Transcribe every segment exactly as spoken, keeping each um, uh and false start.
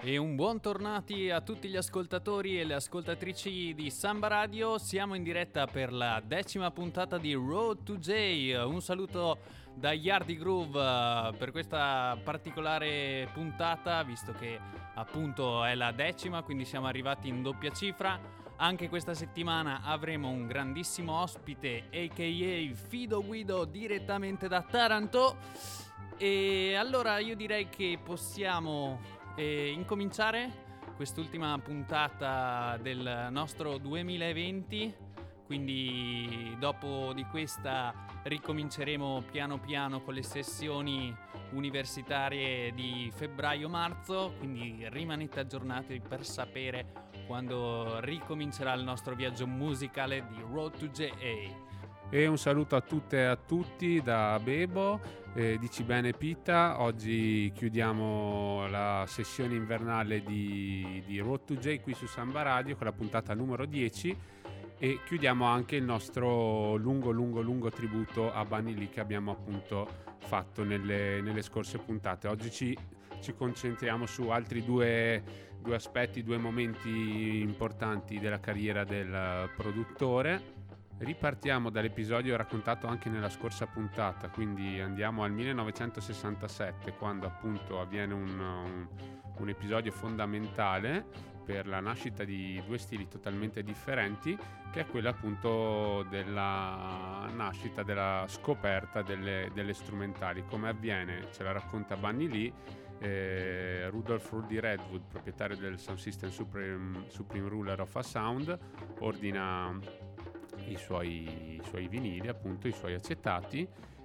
E un buon tornati a tutti gli ascoltatori e le ascoltatrici di Samba Radio. Siamo in diretta per la decima puntata di Road to J. Un saluto da Yardi Groove per questa particolare puntata, visto che appunto è la decima, quindi siamo arrivati in doppia cifra. Anche questa settimana avremo un grandissimo ospite, a k a. Fido Guido, direttamente da Taranto. E allora io direi che possiamo E incominciare quest'ultima puntata del nostro duemilaventi, quindi dopo di questa ricominceremo piano piano con le sessioni universitarie di febbraio-marzo, quindi rimanete aggiornati per sapere quando ricomincerà il nostro viaggio musicale di Road to J A. E un saluto a tutte e a tutti da Bebo, eh, dici bene Pita. Oggi chiudiamo la sessione invernale di, di Road to J qui su Samba Radio con la puntata numero dieci e chiudiamo anche il nostro lungo lungo lungo tributo a Bunny Lee che abbiamo appunto fatto nelle, nelle scorse puntate. Oggi ci, ci concentriamo su altri due, due aspetti, due momenti importanti della carriera del produttore. Ripartiamo dall'episodio raccontato anche nella scorsa puntata, quindi andiamo al millenovecentosessantasette, quando appunto avviene un, un, un episodio fondamentale per la nascita di due stili totalmente differenti, che è quello appunto della nascita, della scoperta delle, delle strumentali. Come avviene? Ce la racconta Bunny Lee. Eh, Rudolph Rudy Redwood, proprietario del Sound System Supreme, Supreme Ruler of a Sound, ordina I suoi, i suoi vinili, appunto i suoi acetati,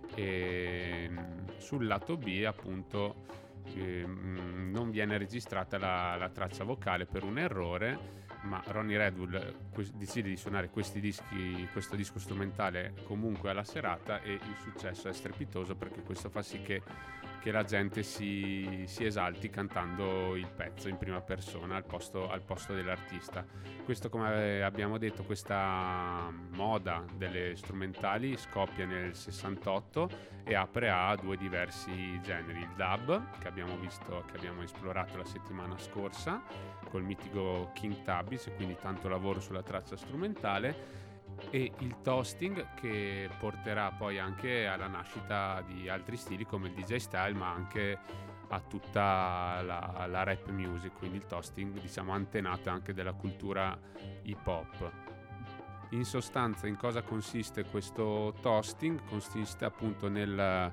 e sul lato B appunto eh, non viene registrata la, la traccia vocale per un errore, ma Ronnie Redwood que- decide di suonare questi dischi, questo disco strumentale comunque alla serata, e il successo è strepitoso perché questo fa sì che, che la gente si, si esalti cantando il pezzo in prima persona al posto, al posto dell'artista. Questo, come abbiamo detto, questa moda delle strumentali scoppia nel sessantotto e apre a due diversi generi: il dub, che abbiamo visto, che abbiamo esplorato la settimana scorsa col mitico King Tubby's, e quindi tanto lavoro sulla traccia strumentale, e il toasting, che porterà poi anche alla nascita di altri stili come il D J style, ma anche a tutta la, la rap music, quindi il toasting diciamo antenato anche della cultura hip hop. In sostanza, in cosa consiste questo toasting? Consiste appunto nel,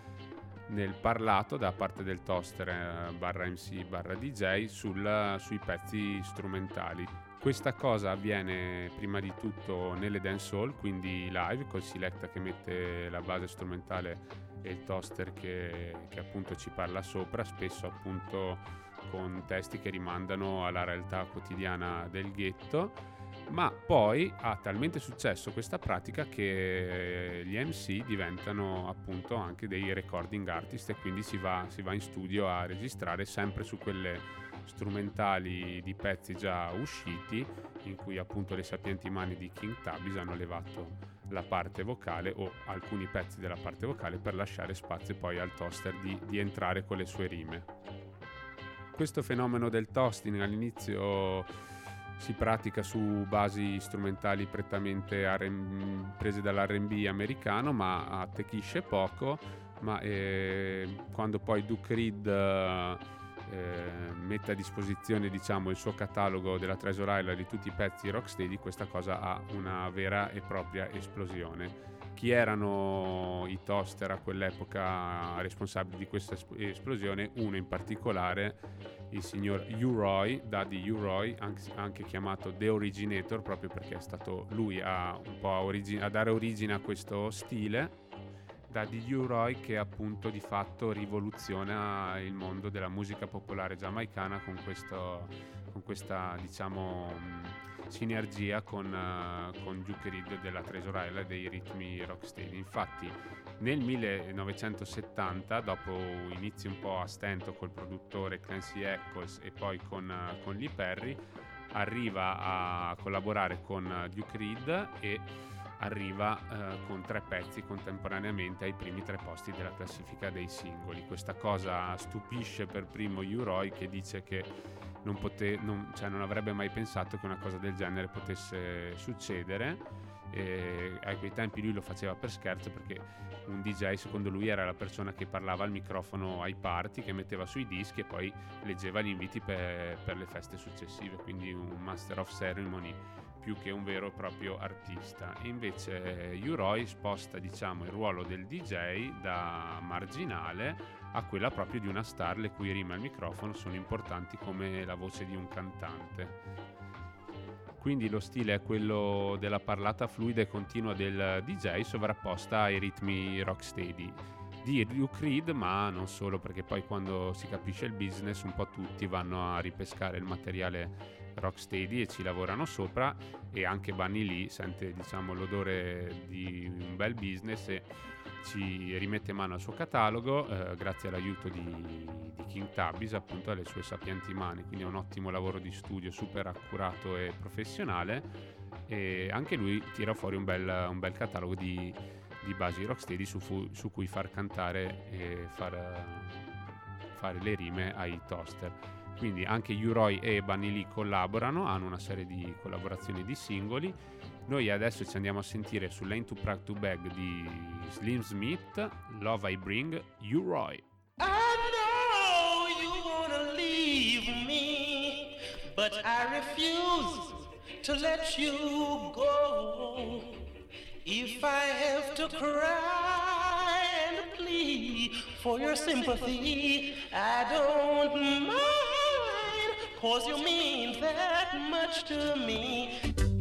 nel parlato da parte del toaster eh, barra M C barra D J sul, sui pezzi strumentali. Questa cosa avviene prima di tutto nelle dancehall, quindi live, col selecta che mette la base strumentale e il toaster che, che appunto ci parla sopra, spesso appunto con testi che rimandano alla realtà quotidiana del ghetto. Ma poi ha talmente successo questa pratica che gli M C diventano appunto anche dei recording artist, e quindi si va, si va in studio a registrare sempre su quelle strumentali di pezzi già usciti, in cui appunto le sapienti mani di King Tubby's hanno levato la parte vocale o alcuni pezzi della parte vocale per lasciare spazio poi al toaster di, di entrare con le sue rime. Questo fenomeno del toasting all'inizio si pratica su basi strumentali prettamente R and B, prese dall'R and B americano, ma attecchisce poco. Ma eh, quando poi Duke Reed eh, eh, mette a disposizione diciamo il suo catalogo della Treasure Island di tutti i pezzi rocksteady, questa cosa ha una vera e propria esplosione. Chi erano i toaster a quell'epoca responsabili di questa esplosione? Uno in particolare, il signor U-Roy, Daddy U-Roy, anche, anche chiamato The Originator, proprio perché è stato lui a, un po' a, origi- a dare origine a questo stile. Daddy U-Roy, che appunto di fatto rivoluziona il mondo della musica popolare giamaicana con, questo, con questa diciamo sinergia con, uh, con Duke Reed della Treasure Island e dei ritmi rocksteady. Infatti nel millenovecentosettanta, dopo inizi un po' a stento col produttore Clancy Eccles e poi con, uh, con Lee Perry, arriva a collaborare con Duke Reed e arriva eh, con tre pezzi contemporaneamente ai primi tre posti della classifica dei singoli. Questa cosa stupisce per primo U-Roy, che dice che non, pote- non, cioè non avrebbe mai pensato che una cosa del genere potesse succedere. E a quei tempi lui lo faceva per scherzo, perché un D J secondo lui era la persona che parlava al microfono ai party, che metteva sui dischi e poi leggeva gli inviti per, per le feste successive, quindi un master of ceremony più che un vero e proprio artista. E invece U-Roy sposta, diciamo, il ruolo del D J da marginale a quella proprio di una star, le cui rime al microfono sono importanti come la voce di un cantante. Quindi lo stile è quello della parlata fluida e continua del D J sovrapposta ai ritmi rocksteady di Duke Reed, ma non solo, perché poi quando si capisce il business un po' tutti vanno a ripescare il materiale rocksteady e ci lavorano sopra, e anche Bunny Lee sente, diciamo, l'odore di un bel business e ci rimette mano al suo catalogo eh, grazie all'aiuto di, di King Tubby's, appunto, alle sue sapienti mani. Quindi è un ottimo lavoro di studio, super accurato e professionale, e anche lui tira fuori un bel, un bel catalogo di, di basi rocksteady su, fu, su cui far cantare e far, fare le rime ai toaster. Quindi anche U-Roy e Bunny Lee collaborano, hanno una serie di collaborazioni di singoli. Noi adesso ci andiamo a sentire su Lane to Prague to Bag di Slim Smith, Love I Bring, U-Roy. I know you wanna leave me, but I refuse to let you go. If I have to cry and plead for your sympathy, I don't mind, 'cause you mean that much to me.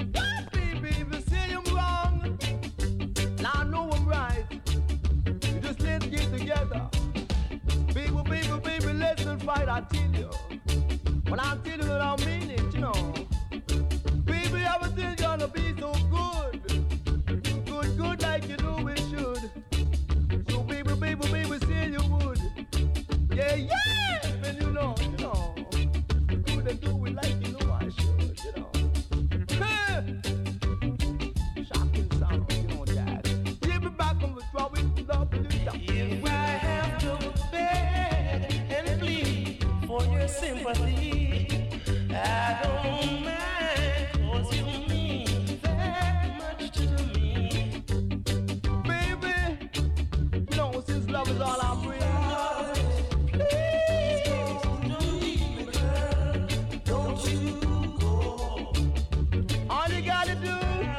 Together, baby, baby, baby, let's fight. I tell you, when I tell you that I mean it, you know, baby, everything's gonna be so good, good, good, like you know it should. So, baby, baby, baby, say you would, yeah, yeah, and you know, you know, good and do it like you know I should, you know. Hey, shocking sound, you know that. Give me back on the trouble, love you. If I have to beg and plead for your sympathy, I don't mind, 'cause you mean that much to me. Baby, you know, since love is all I bring, please don't leave me, girl, don't you go. All you gotta do,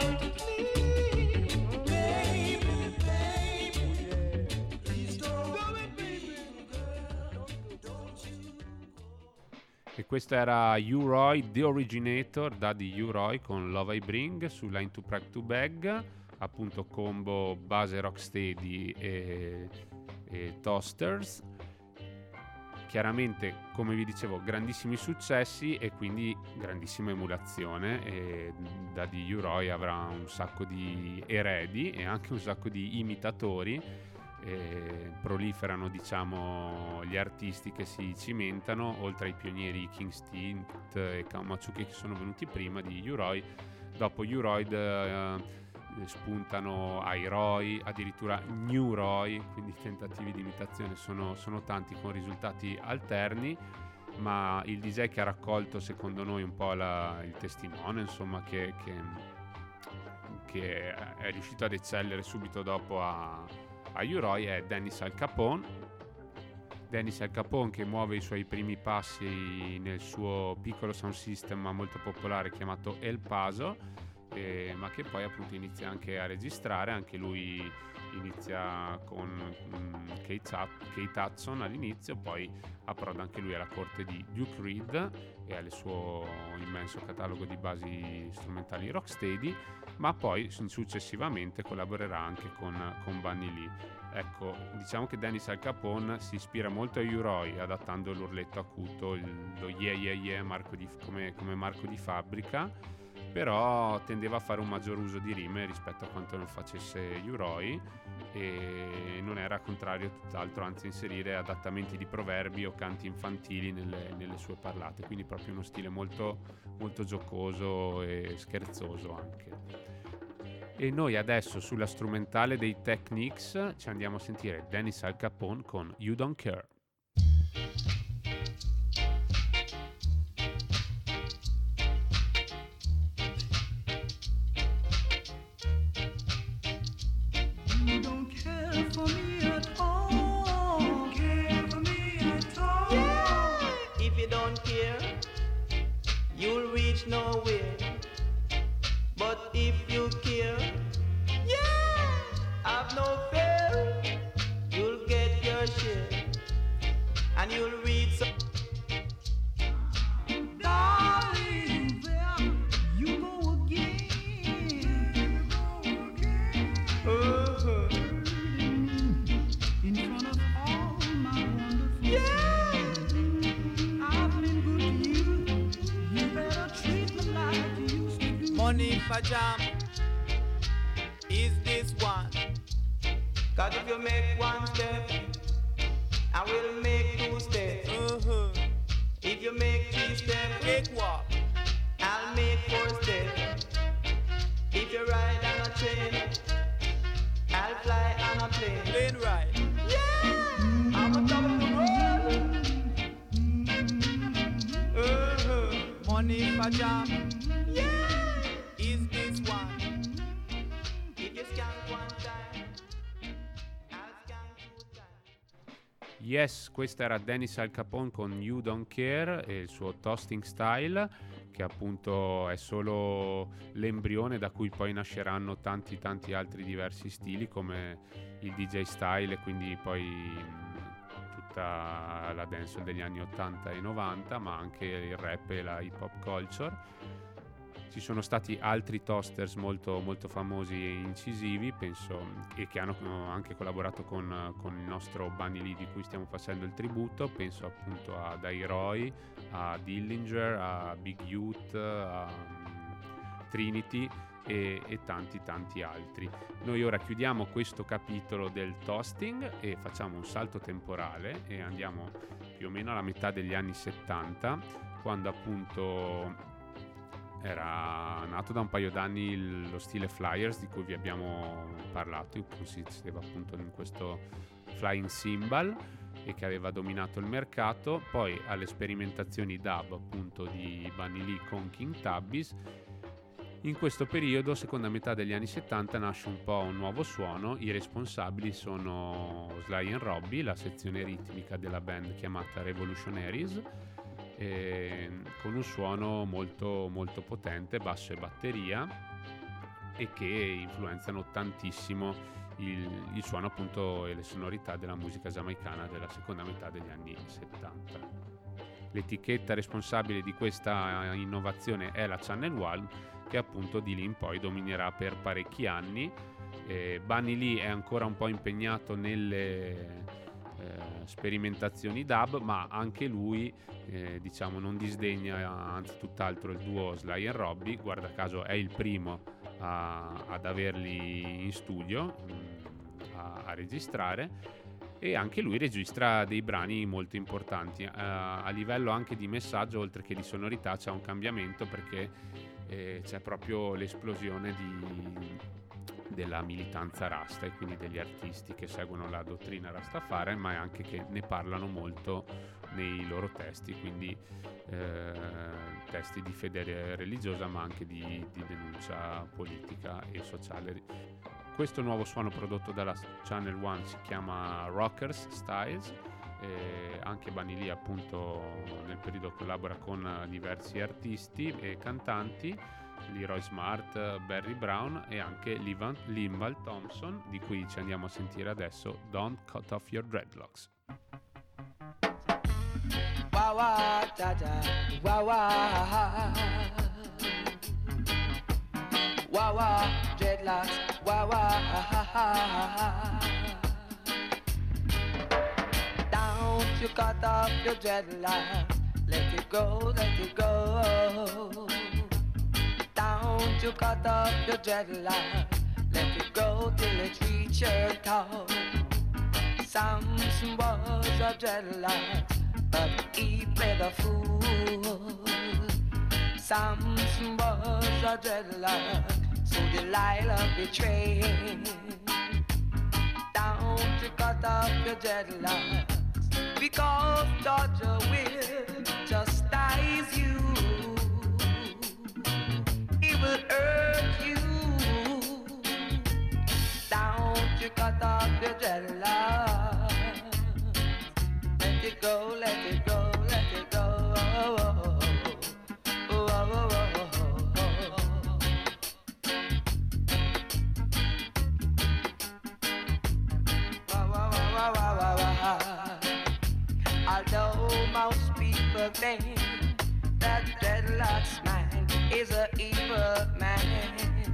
e questo era U-Roy, The Originator, Daddy U-Roy con Love I Bring su Line to Prague to Bag, appunto combo base rocksteady e, e toasters. Chiaramente, come vi dicevo, grandissimi successi e quindi grandissima emulazione, e Daddy U-Roy avrà un sacco di eredi e anche un sacco di imitatori. E proliferano, diciamo, gli artisti che si cimentano, oltre ai pionieri King Stint e Kawamatsuki che sono venuti prima di U-Roy. Dopo U-Roy eh, spuntano I-Roy, addirittura New Roy, quindi i tentativi di imitazione sono, sono tanti con risultati alterni, ma il D J che ha raccolto secondo noi un po' la, il testimone, insomma, che, che, che è riuscito ad eccellere subito dopo a a U-Roy è Dennis Al Capone. Dennis Al Capone che muove i suoi primi passi nel suo piccolo sound system ma molto popolare chiamato El Paso, eh, ma che poi appunto inizia anche a registrare. Anche lui inizia con um, Kate, Kate Hudson all'inizio, poi approda anche lui alla corte di Duke Reed e al suo immenso catalogo di basi strumentali rocksteady, ma poi successivamente collaborerà anche con, con Bunny Lee. Ecco, diciamo che Dennis Al Capone si ispira molto a U-Roy, adattando l'urletto acuto, il, lo yeah yeah yeah marco di, come, come marco di fabbrica, però tendeva a fare un maggior uso di rime rispetto a quanto non facesse U-Roy, e non era contrario tutt'altro, anzi inserire adattamenti di proverbi o canti infantili nelle, nelle sue parlate, quindi proprio uno stile molto, molto giocoso e scherzoso anche. E noi adesso sulla strumentale dei Techniques ci andiamo a sentire Dennis Al Capone con You Don't Care. reach nowhere. But if you care, yeah, have no fear, you'll get your share, and you'll read some. Darling, there you go again. Uh-huh. In front of all my wonderful yeah. friends, I've been good to you. You better treat me like you used to do. Money for jam is this one. Cause if you make one step, I will make two steps. Uh-huh. If you make three steps, make what? I'll make four steps. If you ride on a train, I'll fly on a plane. Plane ride. Yeah! I'm on top of the world. Uh-huh. Money for jam. Yeah! Is this one? If you scan one time, I'll scan two times. Yes, questa era Dennis Al Capone con You Don't Care e il suo Toasting Style, che appunto è solo l'embrione da cui poi nasceranno tanti tanti altri diversi stili, come il D J style e quindi poi mh, tutta la dancehall degli anni ottanta e novanta, ma anche il rap e la hip hop culture. Ci sono stati altri toasters molto, molto famosi e incisivi, penso, e che hanno anche collaborato con, con il nostro Bunny Lee di cui stiamo facendo il tributo. Penso appunto a Dairoy, a Dillinger, a Big Youth, a um, Trinity e, e tanti tanti altri. Noi ora chiudiamo questo capitolo del toasting e facciamo un salto temporale e andiamo più o meno alla metà degli anni settanta, quando appunto era nato da un paio d'anni il, lo stile Flyers di cui vi abbiamo parlato, in cui consisteva appunto in questo flying cymbal e che aveva dominato il mercato. Poi alle sperimentazioni dub appunto di Bunny Lee con King Tubby's. In questo periodo, seconda metà degli anni settanta, nasce un po' un nuovo suono. I responsabili sono Sly and Robbie, la sezione ritmica della band chiamata Revolutionaries, Eh, con un suono molto molto potente, basso e batteria, e che influenzano tantissimo il, il suono appunto e le sonorità della musica giamaicana della seconda metà degli anni settanta. L'etichetta responsabile di questa innovazione è la Channel One, che appunto di lì in poi dominerà per parecchi anni. eh, Bunny Lee è ancora un po' impegnato nelle Eh, sperimentazioni dub, ma anche lui eh, diciamo non disdegna, anzi tutt'altro, il duo Sly and Robbie. Guarda caso è il primo a, ad averli in studio mh, a, a registrare, e anche lui registra dei brani molto importanti. Eh, a livello anche di messaggio, oltre che di sonorità, c'è un cambiamento, perché eh, c'è proprio l'esplosione di della militanza rasta e quindi degli artisti che seguono la dottrina rastafari, ma anche che ne parlano molto nei loro testi, quindi eh, testi di fede religiosa ma anche di, di denuncia politica e sociale. Questo nuovo suono prodotto dalla Channel One si chiama Rockers Styles. Eh, anche Bunny Lee appunto nel periodo collabora con diversi artisti e cantanti, Leroy Smart, Barry Brown e anche Limbal Thompson, di cui ci andiamo a sentire adesso Don't Cut Off Your Dreadlocks. Wah wah da da, wah wah, wah wah, dreadlocks, wah wah. Don't you cut off your dreadlocks, let it go, let it go. Don't you cut off your dreadlocks, let it go till it reach your toe. Samson was a dreadlocks, but he played the fool. Samson was a dreadlock, so Delilah betrayed. Don't you cut off your dreadlocks, because Georgia will chastise you. Will hurt you. Don't you cut off your dreadlocks, let it go, let it go, let it go. Oh, oh, oh, oh, oh. dreadlocks man is a evil man.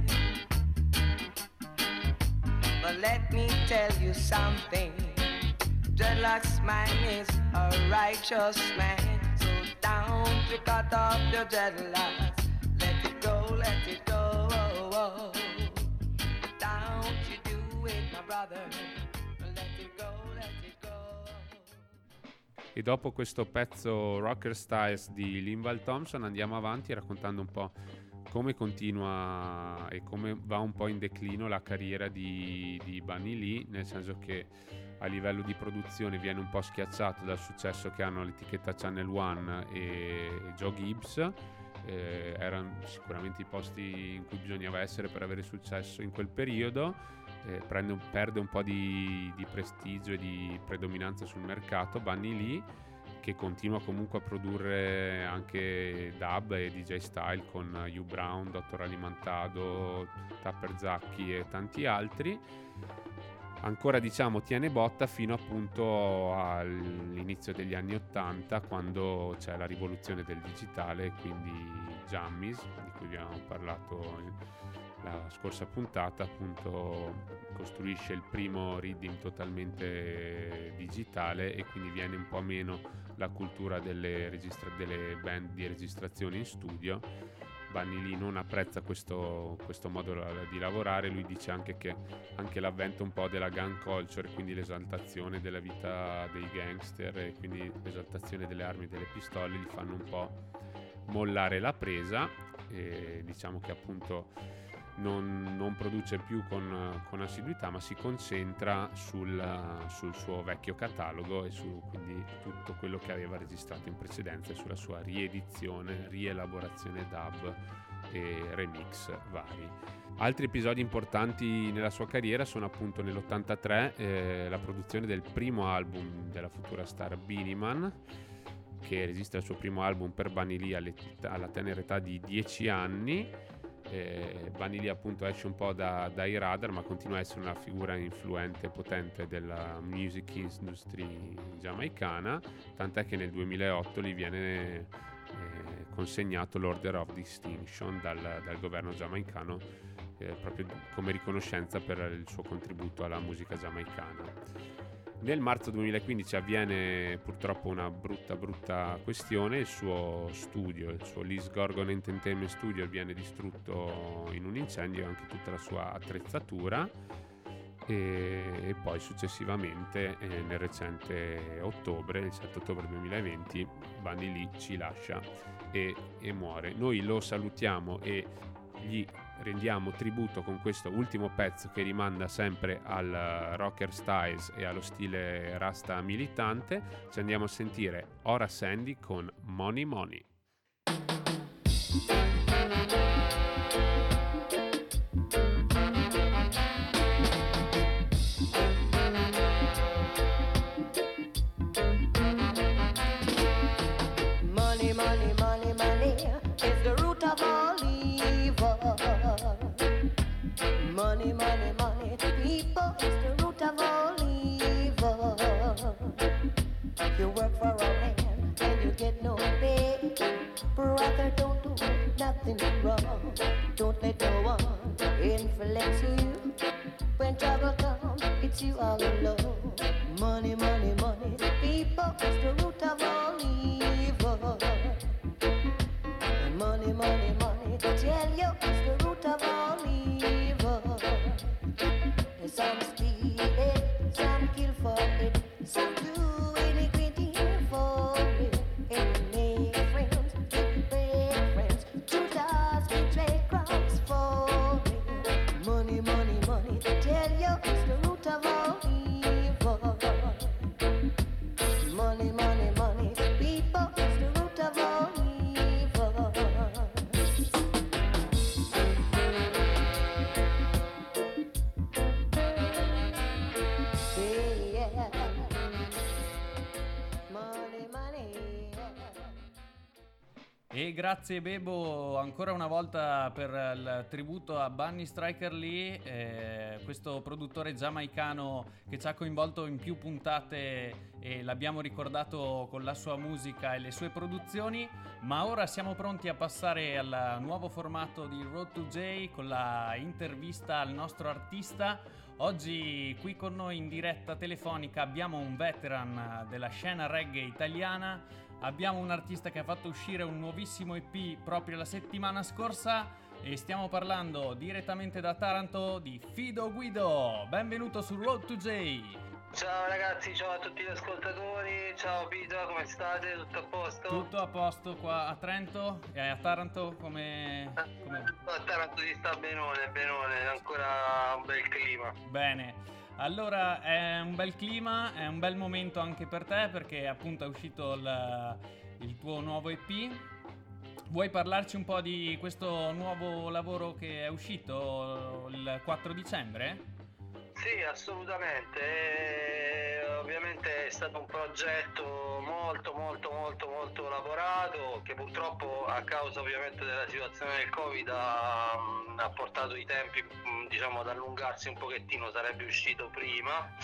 But let me tell you something, dreadlocks man is a righteous man. So don't you cut off your dreadlocks, let it go, let it go. Don't you do it, my brother, let it go, let it go. E dopo questo pezzo Rocker Styles di Linval Thompson andiamo avanti raccontando un po' come continua e come va un po' in declino la carriera di, di Bunny Lee, nel senso che a livello di produzione viene un po' schiacciato dal successo che hanno l'etichetta Channel One e Joe Gibbs. Eh, erano sicuramente i posti in cui bisognava essere per avere successo in quel periodo. Eh, prende un, perde un po' di, di prestigio e di predominanza sul mercato Bunny Lee, che continua comunque a produrre anche dub e D J style con Hugh Brown, Dottor Alimantado, Tapper Zacchi e tanti altri. Ancora diciamo tiene botta fino appunto all'inizio degli anni ottanta, quando c'è la rivoluzione del digitale, quindi Jammies, di cui vi abbiamo parlato la scorsa puntata, appunto costruisce il primo reading totalmente digitale e quindi viene un po' meno la cultura delle, registra- delle band di registrazione in studio. Bunny Lee non apprezza questo, questo modo di lavorare. Lui dice anche che anche l'avvento un po' della gun culture, quindi l'esaltazione della vita dei gangster e quindi l'esaltazione delle armi e delle pistole, gli fanno un po' mollare la presa, e diciamo che appunto Non, non produce più con, con assiduità, ma si concentra sul, sul suo vecchio catalogo e su quindi tutto quello che aveva registrato in precedenza e sulla sua riedizione, rielaborazione dub e remix vari. Altri episodi importanti nella sua carriera sono appunto nell'ottantatré eh, la produzione del primo album della futura star Beenie Man, che registra il suo primo album per Bunny Lee alla tenera età di dieci anni. Eh, Bunny Lee appunto esce un po' da, dai radar, ma continua a essere una figura influente e potente della music industry giamaicana, tant'è che nel duemilaotto gli viene eh, consegnato l'Order of Distinction dal, dal governo giamaicano eh, proprio come riconoscenza per il suo contributo alla musica giamaicana. Nel marzo duemilaquindici avviene purtroppo una brutta brutta questione: il suo studio, il suo Liz Gorgon Entertainment Studio, viene distrutto in un incendio e anche tutta la sua attrezzatura, e, e poi successivamente eh, nel recente ottobre, il sette ottobre duemilaventi, Bunny Lee ci lascia e, e muore. Noi lo salutiamo e gli rendiamo tributo con questo ultimo pezzo che rimanda sempre al rocker styles e allo stile rasta militante. Ci andiamo a sentire Ora Sandy con Money Money. Money, money, money, money is the root of all evil. Money, money, money, people is the root of all evil. You work for a man and you get no pay. Brother, don't do nothing wrong. Don't let no one influence you. When trouble comes, it's you all alone. Money, money, money, people is the root of all evil. Money, money, money, tell you it's the root of all evil. Some steal it, some kill for it, some do iniquity for it. And make friends, and break friends, two dogs betray crowns for it. Money, money, money, tell you it's the root of all evil. Money, money, money, people, it's the root of all evil. E grazie Bebo ancora una volta per il tributo a Bunny Striker Lee, eh, questo produttore giamaicano che ci ha coinvolto in più puntate e l'abbiamo ricordato con la sua musica e le sue produzioni. Ma ora siamo pronti a passare al nuovo formato di Road to J con la intervista al nostro artista. Oggi qui con noi in diretta telefonica abbiamo un veteran della scena reggae italiana. Abbiamo un artista che ha fatto uscire un nuovissimo E P proprio la settimana scorsa e stiamo parlando direttamente da Taranto di Fido Guido. Benvenuto su Road to J. Ciao ragazzi, ciao a tutti gli ascoltatori, ciao Pito, come state? Tutto a posto? Tutto a posto qua a Trento e a Taranto come... come... A Taranto si sta benone, benone, ancora un bel clima. Bene. Allora è un bel clima, è un bel momento anche per te perché appunto è uscito il, il tuo nuovo E P. Vuoi parlarci un po' di questo nuovo lavoro che è uscito il quattro dicembre? Sì, assolutamente. E, ovviamente è stato un progetto molto molto molto molto lavorato che purtroppo a causa ovviamente della situazione del Covid ha, ha portato i tempi diciamo ad allungarsi un pochettino, sarebbe uscito prima.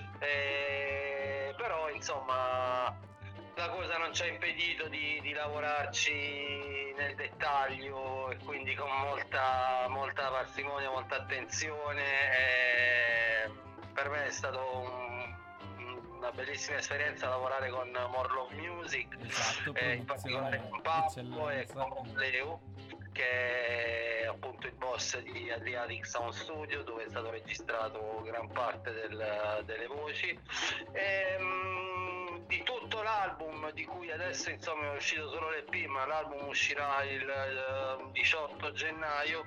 E, però insomma la cosa non ci ha impedito di, di lavorarci nel dettaglio e quindi con molta, molta parsimonia, molta attenzione. E per me è stato un, una bellissima esperienza lavorare con More Love Music, esatto, eh, in particolare con Pablo e con Leo, che è appunto il boss di Adriatic Sound Studio, dove è stato registrato gran parte del, delle voci. E, di tutto l'album, di cui adesso insomma è uscito solo l'E P, ma l'album uscirà il uh, diciotto gennaio.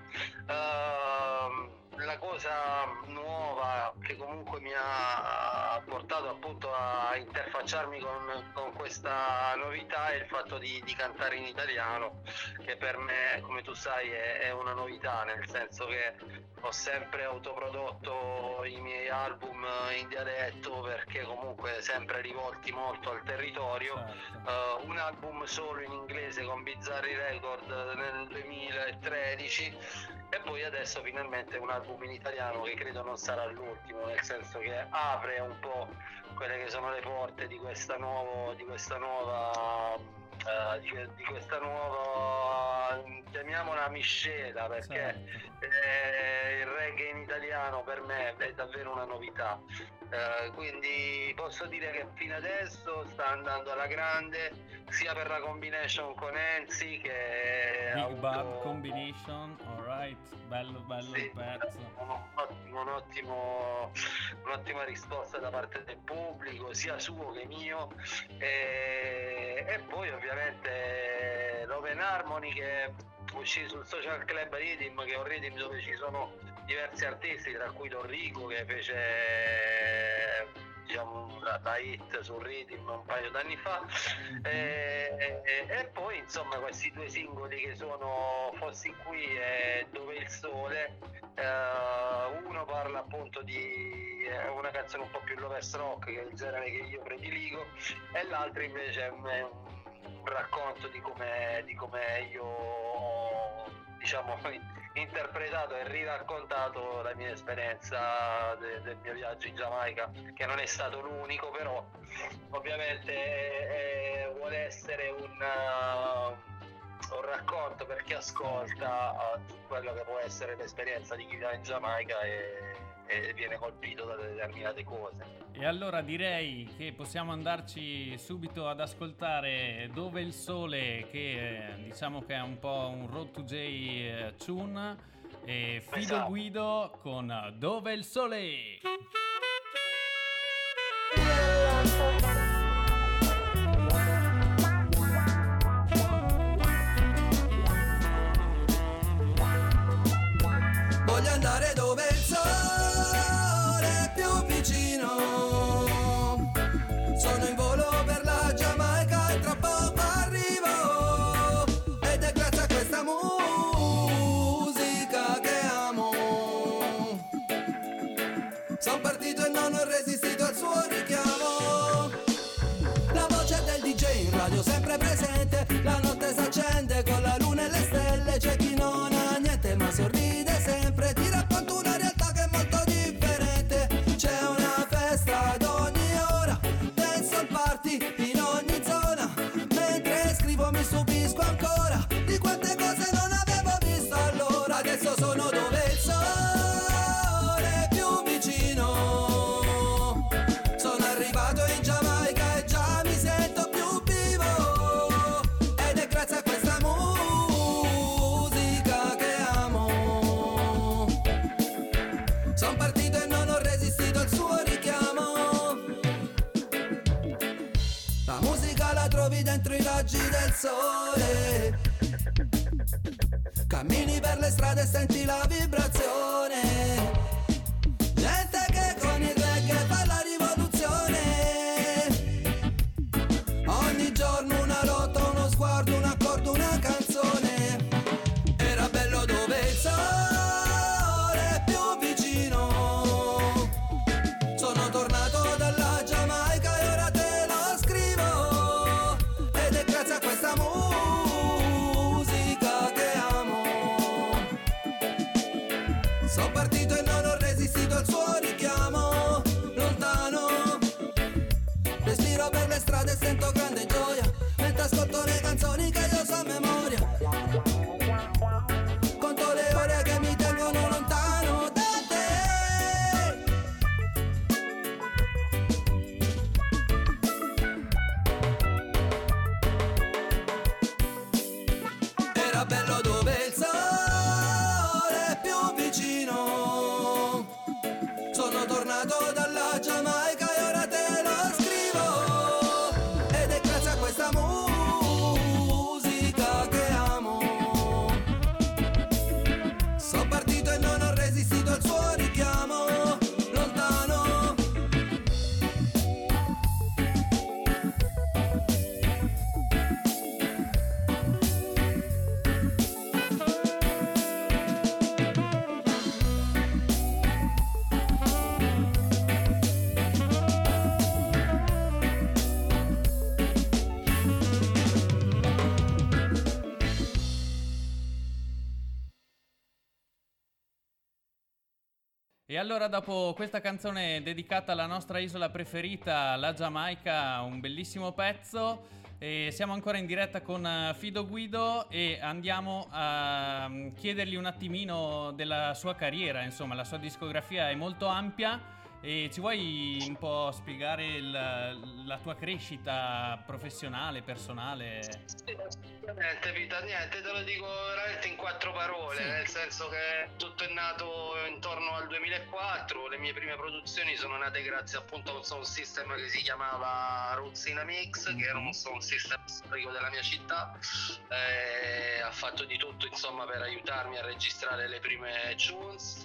Uh, la cosa nuova che comunque mi ha portato appunto a interfacciarmi con, con questa novità è il fatto di, di cantare in italiano, che per me, come tu sai, è, è una novità, nel senso che ho sempre autoprodotto i miei album in dialetto perché comunque sempre rivolti molto al territorio. Certo. Uh, un album solo in inglese con Bizzarri Record nel duemilatredici e poi adesso finalmente un album in italiano che credo non sarà l'ultimo, nel senso che apre un po' quelle che sono le porte di questa nuovo, di questa nuova uh, di, di questa nuova, chiamiamola miscela, perché certo. eh, il reggae in italiano per me è davvero una novità. Uh, quindi posso dire che fino adesso sta andando alla grande, sia per la combination con Enzi che Big avuto... Bad Combination, alright, bello bello sì, il pezzo. Un ottimo, un ottimo, un'ottima risposta da parte del pubblico, sia suo che mio, e, e poi ovviamente l'Open Harmony che uscì sul Social Club Rhythm, che è un rhythm dove ci sono diversi artisti, tra cui Don Rico che fece diciamo la, la hit sul rhythm un paio d'anni fa. E, e, e poi insomma questi due singoli che sono Fossi qui e Dove il sole, eh, uno parla appunto di eh, una canzone un po' più lovers rock, che è il genere che io prediligo, e l'altro invece è un, è un racconto di come di come io ho diciamo interpretato e riraccontato la mia esperienza de, del mio viaggio in Giamaica, che non è stato l'unico, però ovviamente eh, vuole essere un, uh, un racconto per chi ascolta uh, quello che può essere l'esperienza di chi va in Giamaica e, e viene colpito da determinate cose. E allora direi che possiamo andarci subito ad ascoltare Dove il sole, che eh, diciamo che è un po' un Road to J eh, tune, e Fido esatto. Guido con Dove il sole. Voglio andare dove il sole è più vicino. Sono in volo per la Giamaica e tra poco arrivo. Ed è grazie a questa musica che amo. Sono partito e non ho resistito al suo richiamo. La voce del D J in radio sempre presente. La notte s'accende dentro i raggi del sole. Cammini per le strade e senti la vibrazione. Gente che con il reggae fa la rivoluzione. Ogni giorno una lotta, uno sguardo, un accordo, una canzone. Era bello dove il sole è più vicino. Sono tornato dalla Giamaica e ora te lo scrivo. Ed è grazie a questa musica che amo. Sono partito e non ho resistito al suo richiamo. Lontano, respiro per le strade e sento grande gioia mentre ascolto le canzoni che io so a memoria. Conto le ore che mi tengono lontano da te. Era bello dove il sole è più vicino. Sono tornato dalla Giamaica e ora te lo scrivo. Ed è grazie a questa musica che amo. Sono partito e non ho resistito al suo richiamo. Lontano, E allora, dopo questa canzone dedicata alla nostra isola preferita, la Giamaica, un bellissimo pezzo, e siamo ancora in diretta con eh, Fido Guido e andiamo a mm, chiedergli un attimino della sua carriera. Insomma, la sua discografia è molto ampia e ci vuoi un po' spiegare il- la tua crescita professionale, personale? Niente, Vita, niente, te lo dico veramente in quattro parole, Sì. nel senso che tutto è nato intorno al duemilaquattro, le mie prime produzioni sono nate grazie appunto a un sound system che si chiamava Ruzzina Mix, che era un sound system storico della mia città, e ha fatto di tutto insomma per aiutarmi a registrare le prime tunes.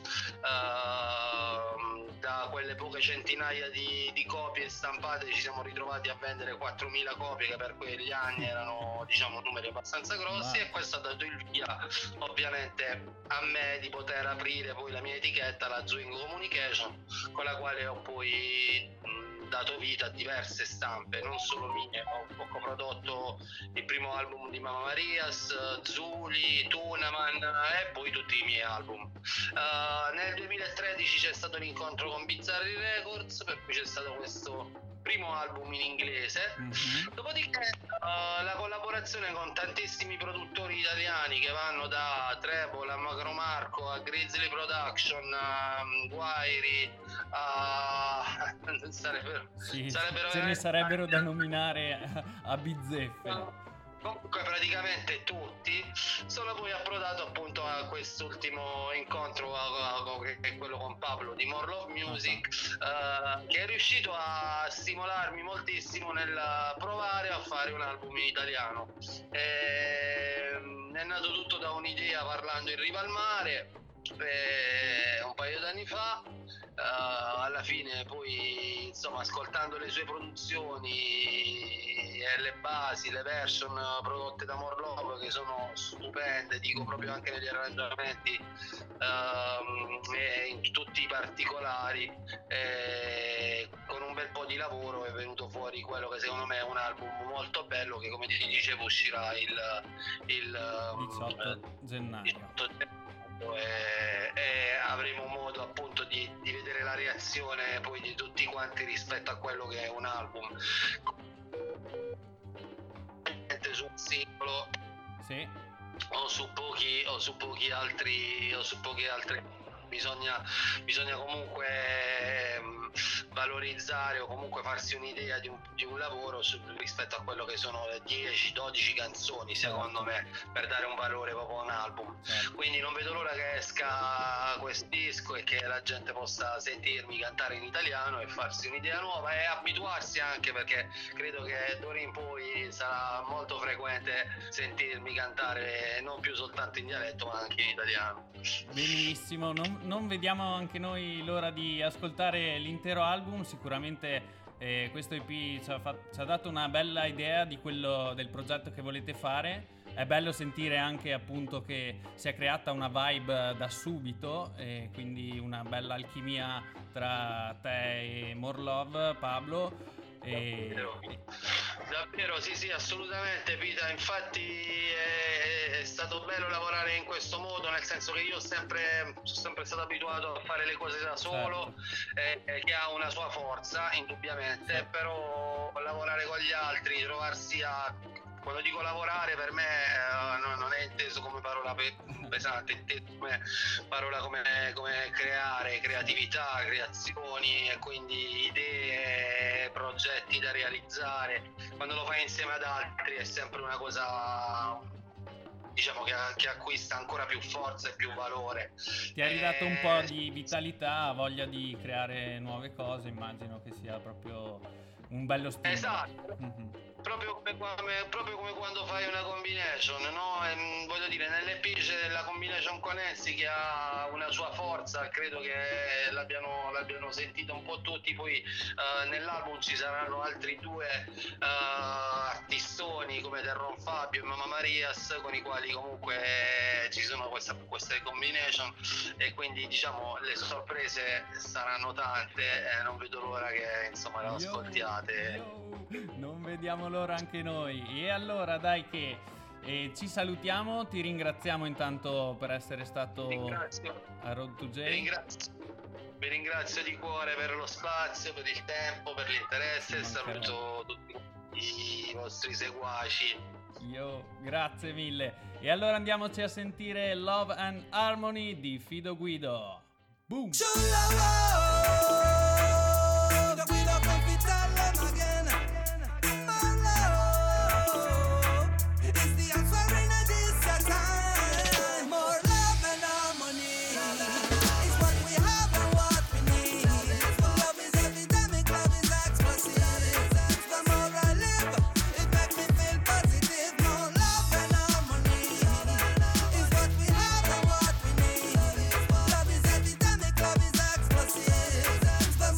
Ehm, da quelle poche centinaia di, di copie stampate ci siamo ritrovati a vendere quattromila copie, che per quegli anni erano diciamo numeri abbastanza grossi. Wow. E questo ha dato il via ovviamente a me di poter aprire poi la mia etichetta, la Zwingo Communication, con la quale ho poi mh, dato vita a diverse stampe, non solo mie. Ho, ho coprodotto il primo album di Mamma Marias, Zuli, Tunaman e poi tutti i miei album. Uh, nel duemilatredici c'è stato l'incontro con Bizzarri Records, per cui c'è stato questo primo album in inglese. Mhm. Dopodiché uh, la collaborazione con tantissimi produttori italiani che vanno da Treble a Macro Marco a Grizzly Production a um, Guairi a sarebbero, Sì, sarebbero ce ne veramente sarebbero da tanti. nominare a, a bizzeffe. Comunque praticamente tutti. Sono poi approdato appunto a quest'ultimo incontro a- a- che è quello con Pablo di More Love Music, eh, che è riuscito a stimolarmi moltissimo nel provare a fare un album in italiano. Ehm, è nato tutto da un'idea parlando in riva al mare eh, un paio d'anni fa. Eh, alla fine poi insomma ascoltando le sue produzioni e le basi, le version prodotte da More Love, che sono stupende, dico proprio anche negli arrangiamenti ehm, e in tutti i particolari, e con un bel po' di lavoro è venuto fuori quello che secondo me è un album molto bello, che come ti dicevo uscirà il, il diciotto gennaio. diciotto gennaio, e, e avremo modo appunto di, di vedere la reazione poi di tutti quanti rispetto a quello che è un album. Su un singolo Sì. o su pochi o su pochi altri o su pochi altri bisogna bisogna comunque ehm, valorizzare o comunque farsi un'idea di un, di un lavoro su, rispetto a quello che sono le dieci dodici canzoni, secondo me, per dare un valore proprio a un album. Quindi non vedo l'ora che esca questo disco e che la gente possa sentirmi cantare in italiano e farsi un'idea nuova e abituarsi anche, perché credo che d'ora in poi sarà molto frequente sentirmi cantare non più soltanto in dialetto ma anche in italiano. Benissimo, non, non vediamo anche noi l'ora di ascoltare l'intero album. Sicuramente eh, questo E P ci ha, fatto, ci ha dato una bella idea di quello, del progetto che volete fare. È bello sentire anche appunto che si è creata una vibe da subito, e quindi una bella alchimia tra te e More Love, Pablo. E... Davvero, davvero sì sì, assolutamente Pita, infatti è, è stato bello lavorare in questo modo, nel senso che io ho sempre, sono sempre stato abituato a fare le cose da solo, certo. eh, che ha una sua forza indubbiamente, certo. Però lavorare con gli altri, trovarsi a... Quando dico lavorare, per me eh, no, non è inteso come parola pe- pesante, è inteso come parola come, come creare, creatività, creazioni e quindi idee, progetti da realizzare. Quando lo fai insieme ad altri è sempre una cosa, diciamo, che, che acquista ancora più forza e più valore. Ti ha ridato eh... un po' di vitalità, voglia di creare nuove cose, immagino che sia proprio un bello stimolo. Esatto. Mm-hmm. Proprio come, come, proprio come quando fai una combination, no? E, voglio dire, nell'E P c'è la combination con Enzi che ha una sua forza, credo che l'abbiano, l'abbiano sentito un po' tutti, poi uh, nell'album ci saranno altri due uh, artistoni come Terron Fabio e Mamma Marias, con i quali comunque ci sono questa, queste combination, e quindi diciamo le sorprese saranno tante, e non vedo l'ora che insomma le ascoltiate. Yo, non vediamo l'ora anche noi. E allora dai che eh, ci salutiamo, ti ringraziamo intanto per essere stato ringrazio. a Road to J. Vi ringrazio. Vi ringrazio di cuore per lo spazio, per il tempo, per l'interesse, e saluto tutti i vostri seguaci. Io, grazie mille. E allora andiamoci a sentire Love and Harmony di Fido Guido. Boom! Love is epidemic, love is explosive.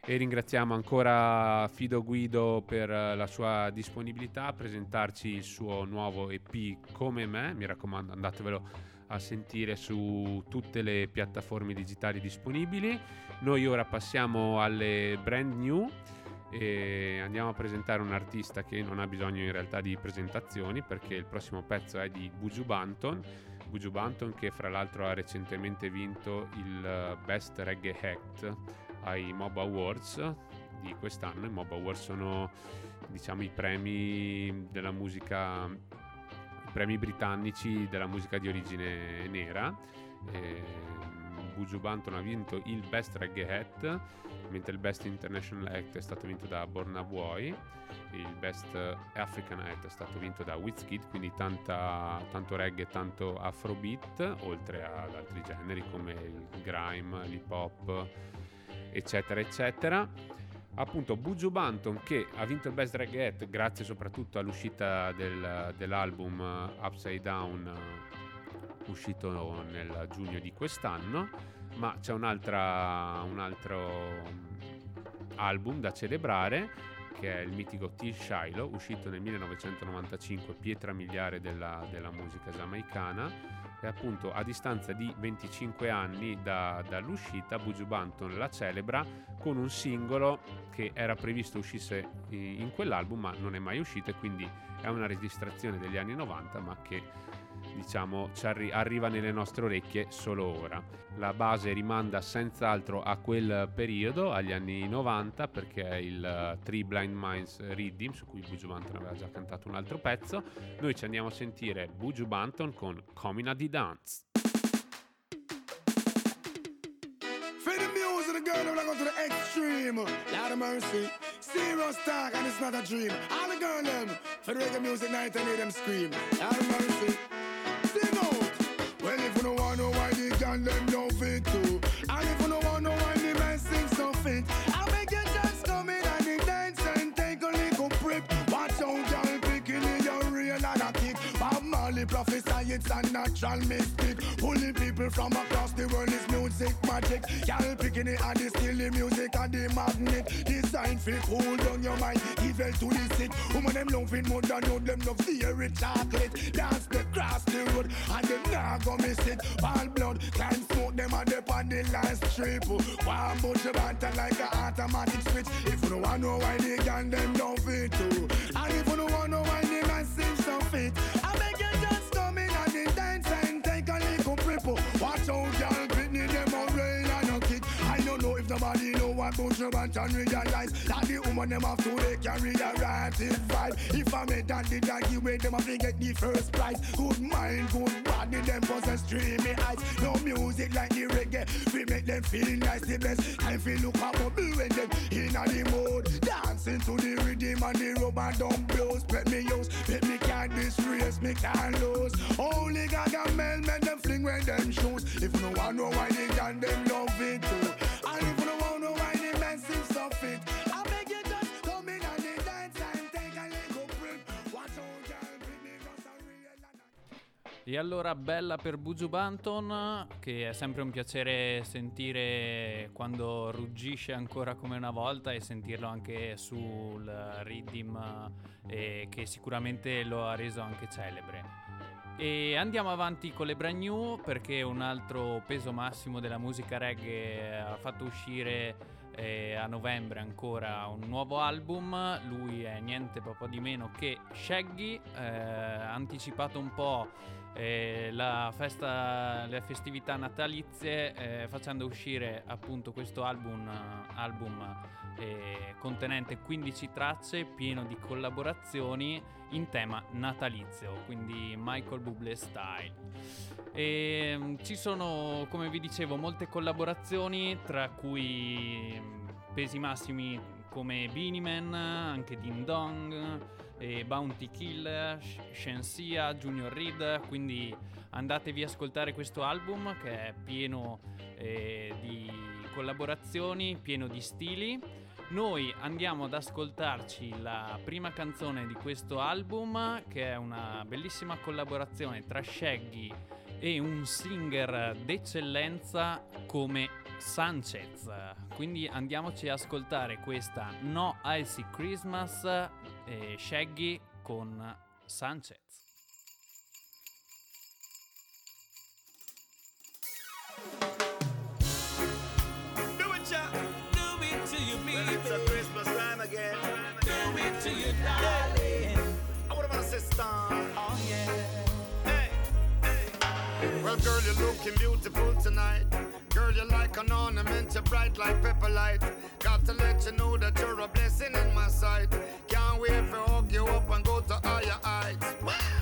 E ringraziamo ancora Fido Guido per la sua disponibilità a presentarci il suo nuovo E P Come Me. Mi raccomando, andatevelo a sentire su tutte le piattaforme digitali disponibili. Noi ora passiamo alle brand new e andiamo a presentare un artista che non ha bisogno in realtà di presentazioni, perché il prossimo pezzo è di Buju Banton. Buju Banton, che fra l'altro ha recentemente vinto il Best Reggae Act ai Mob Awards di quest'anno. I Mob Awards sono, diciamo, i premi della musica, i premi britannici della musica di origine nera. E Buju Banton ha vinto il Best Reggae Act, mentre il Best International Act è stato vinto da Burna Boy, il Best African Act è stato vinto da Wizkid, quindi tanta, tanto reggae, tanto afrobeat, oltre ad altri generi come il grime, l'hip hop, eccetera eccetera. Appunto Buju Banton, che ha vinto il Best Reggae Act grazie soprattutto all'uscita del, dell'album Upside Down, uscito nel giugno di quest'anno, ma c'è un'altra, un altro album da celebrare, che è il mitico T. Shiloh, uscito nel millenovecentonovantacinque, pietra miliare della, della musica giamaicana. E appunto a distanza di venticinque anni da, dall'uscita, Buju Banton la celebra con un singolo che era previsto uscisse in, in quell'album, ma non è mai uscito, e quindi è una registrazione degli anni novanta, ma che, diciamo, ci arri- arriva nelle nostre orecchie solo ora. La base rimanda senz'altro a quel periodo, agli anni novanta, perché è il uh, Three Blind Minds Rhythm, su cui Buju Banton aveva già cantato un altro pezzo. Noi ci andiamo a sentire Buju Banton con Coming di Dance. For the music, the girl that go to the extreme. Lord of mercy, serious talk and it's not a dream. All the girl them, for the reggae music night I need them scream. Lord of mercy, sing out. Well, if you don't want to know why the girl them don't fit too, and if you don't want to know why the man sing so fit, I make you just come in and the dance and take a little prep. Watch out, girl, picking in your real and a kick. Bob Marley prophesy it's a natural mystic. Pulling people from across the world is music magic. Y'all picking it and it's still the music and the magnet. Designed for cool down your mind, evil to the sick. Woman them loving more than you, them love theory chocolate. Dance the cross the road and them nah go miss it. All blood, climb smoke them and up on the last strip. One bunch of banter like a automatic switch. If you don't want to know why they gang them don't fit too, and if you don't want to know why the man seems so fit, I beg you just come in and the dance and take a little prep. Watch out, y'all, Britney, them a rail and a kick. I don't know if nobody know what Buju Banton realize that the woman them have to they carry the right vibe. If I made that the doggy way, them have to get the first prize. Good mind, good body, them possess dreamy eyes. No music like the reggae, we make them feel nice. The best time we look up bubble when them in a the mode, dancing to the rhythm and the rubber dump blows. Let me use, let me can't disgrace, me can't lose. Only Gaga Mel make them fling when them shoes. If no one know why they can, them love it too. And if no one know why they men seem so fit, I beg you just come in and they dance and take a little break. Watch out, girl, Britney just a real. E allora bella per Buju Banton, che è sempre un piacere sentire quando ruggisce ancora come una volta, e sentirlo anche sul rhythm, eh, che sicuramente lo ha reso anche celebre. E andiamo avanti con le brand new, perché un altro peso massimo della musica reggae ha fatto uscire eh, a novembre ancora un nuovo album. Lui è niente proprio di meno che Shaggy, eh, ha anticipato un po' eh, la festa, le festività natalizie, eh, facendo uscire appunto questo album, album eh, contenente quindici tracce, pieno di collaborazioni in tema natalizio, quindi Michael Bublé style. E um, ci sono, come vi dicevo, molte collaborazioni, tra cui um, pesi massimi come Beenie Man, anche Ding Dong, e Bounty Killer, Shensia, Junior Reid. Quindi andatevi a ascoltare questo album, che è pieno eh, di collaborazioni, pieno di stili. Noi andiamo ad ascoltarci la prima canzone di questo album, che è una bellissima collaborazione tra Shaggy e un singer d'eccellenza come Sanchez. Quindi andiamoci a ascoltare questa No Icy Christmas e Shaggy con Sanchez. Do it, child. Do it to you, baby. Well, it's a Christmas time again. Do it to you, darling. I would have sister. Oh, yeah. Hey, hey. Well, girl, you're looking beautiful tonight. Girl, you're like an ornament, you're bright like pepper light. Got to let you know that you're a blessing in my sight. Can't wait to hug you up and go to higher heights.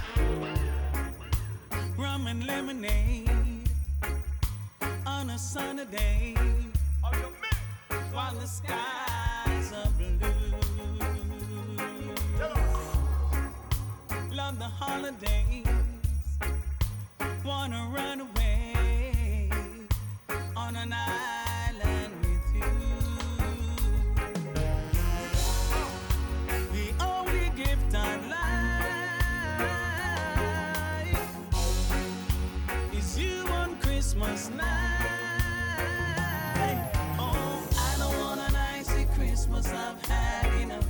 Rum and lemonade on a sunny day, while the skies are blue. Love the holidays, wanna run away on an island with you. The only gift I'd like is you on Christmas night. Oh, I don't want an icy Christmas, I've had enough.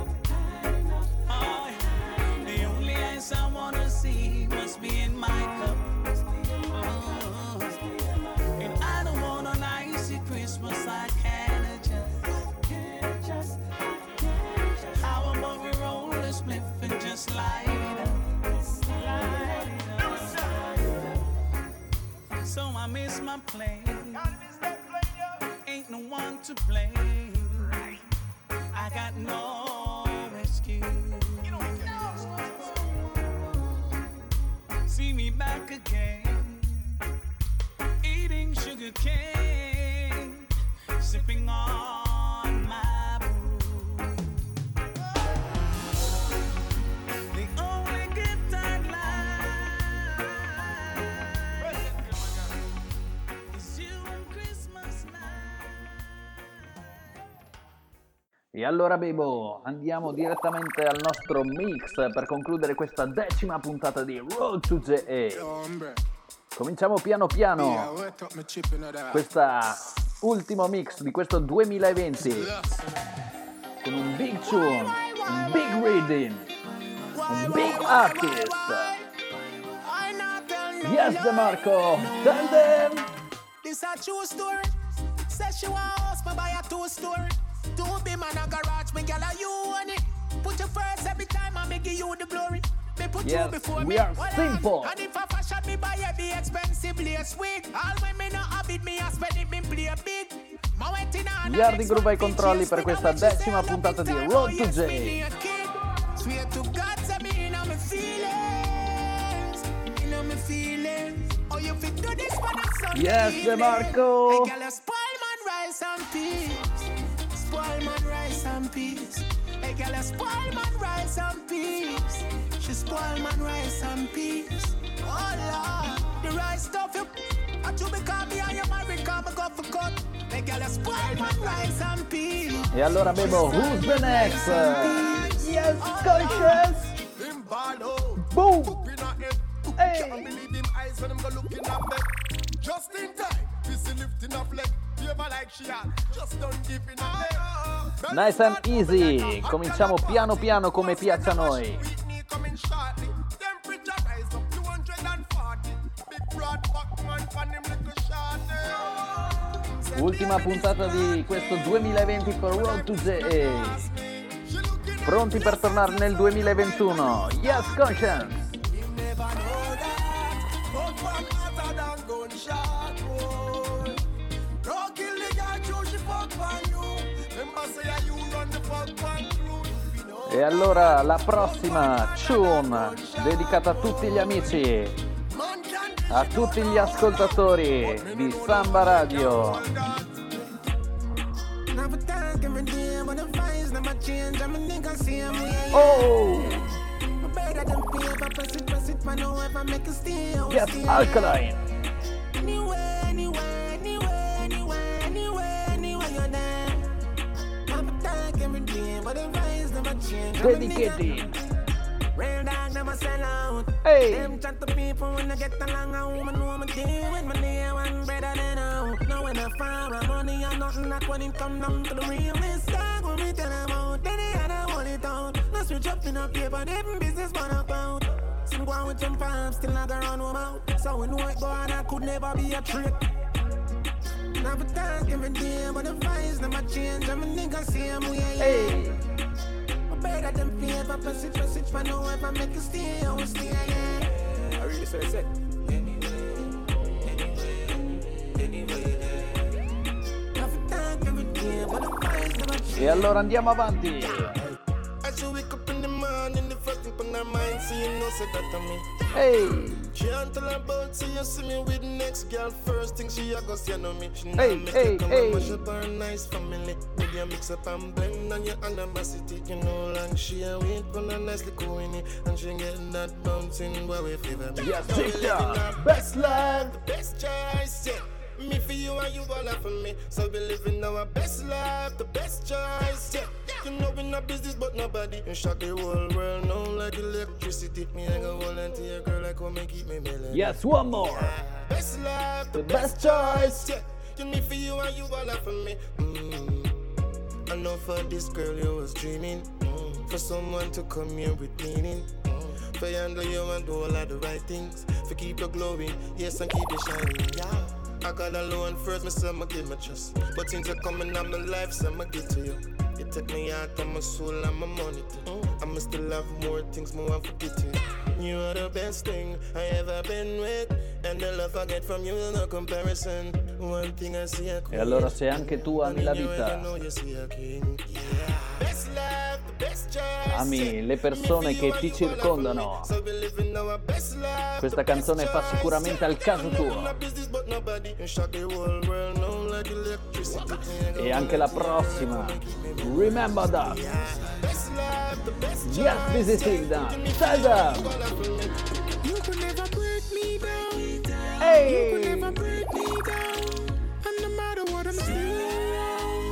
Oh, the only ice I wanna see must be in my cup. Oh, and I don't want an icy Christmas, I can't adjust. How about we roll a spliff and just light it up? So I miss my plane. Ain't no one to blame. I got no excuse. See me back again, eating sugar cane, sipping on my brew. The only gift I'd like is you on Christmas night. E allora Bebo, andiamo direttamente al nostro mix per concludere questa decima puntata di Road to J A. Cominciamo piano piano questa ultimo mix di questo duemilaventi con un big tune, un big reading, un big artist. Yes, DeMarco, tell them. This a true story. Says she want house, but buy a two story. Two be man a garage, me gyal a you on it. Put you first every time I make you the glory. Me put Yes, you before we me. are Well, simple. And if I fashion me buy a be expensive, lace sweet. All when me no habit me I spend it, me play big. Ma went in a Yardi Groove ai controlli per questa decima puntata di Road to J A. Swear to God, say me in my feelings, in my feelings. Oh, you fit do this for the sun. Yes, DeMarco. Hey, girl, you spoil man rice and peas. Spoil man rice and peas. Hey, girl, you spoil man rice and peas. She spoil man rice and peas. Oh Lord, the rice stuff you. I do become me and you married, come go for cut. Hey, girl, you spoil man rice and peas. E allora Bebo, who's the next? Yes, conscious. Boom. Hey. Just in time, busy lifting up leg. Like she had, just don't give in a Nice and easy. Cominciamo piano piano come piace a noi. Ultima puntata di questo duemilaventi con Road to J A. Pronti per tornare nel duemilaventuno? Yes, Conscience. E allora la prossima tune dedicata a tutti gli amici, a tutti gli ascoltatori di Samba Radio. Oh! Yes, Alkaline. Dedicated. Real dog never sell out. Hey. Them chat to people when I get along, a woman know me deal with my day one better than out. Now when I find my money or nothing, that's when it come down to the real. This dog when me tell about, then they had to hold it out. No switch up in a paper, them business man account. Some go on with some palms, still not gonna run them out. So we know it go on, I could never be a trick. Never talk every day, but the vibes never change. I'm a nigga, see I'm way, yeah. Hey. Better than favor, plus it, plus it, for no ever make it stay, I will stay, yeah. I really say it. E allora andiamo avanti. As you wake up in the morning, the first thing on our mind, so you know, say that to me. Hey. Can't tell about, so you see me with the next girl. First thing she a go see, know me. She Hey, make hey, you come hey. and mash up her nice family. With your mix up and blend on your animosity. You know, long she a wait for a nicely going in. And she get that bouncing boy we favor me. Yes, Now we sister. living our Best life. the best choice, yeah. Me for you and you all for me. So we living our best life, the best choice, yeah. You know we not business but nobody. And shock the whole world now like electricity. Me I go volunteer girl like come and keep me melody. Yes, one more. Best life, the, The best choice. yeah. You me for you and you all for me. Mm. I know for this girl you was dreaming. Mm. For someone to come here with meaning. Mm. For handle you and do all of the right things. For keep you glowing, yes, and keep you shining, yeah. I got alone first, me say I'ma give my trust. But since you're coming on my life, so I'ma give to you. You take me out of my soul and my money too. I'ma still have more things, more I forget you. You are the best thing I ever been with. And the love I get from you, no comparison. One thing I see a E allora se anche tu ami la vita, ami le persone che ti circondano, questa canzone fa sicuramente al caso tuo. E anche la prossima, Remember That. Yes, Busy Signal. Stand up. You could never break me down. Hey. You could never break me down. And no matter what, I'm still around.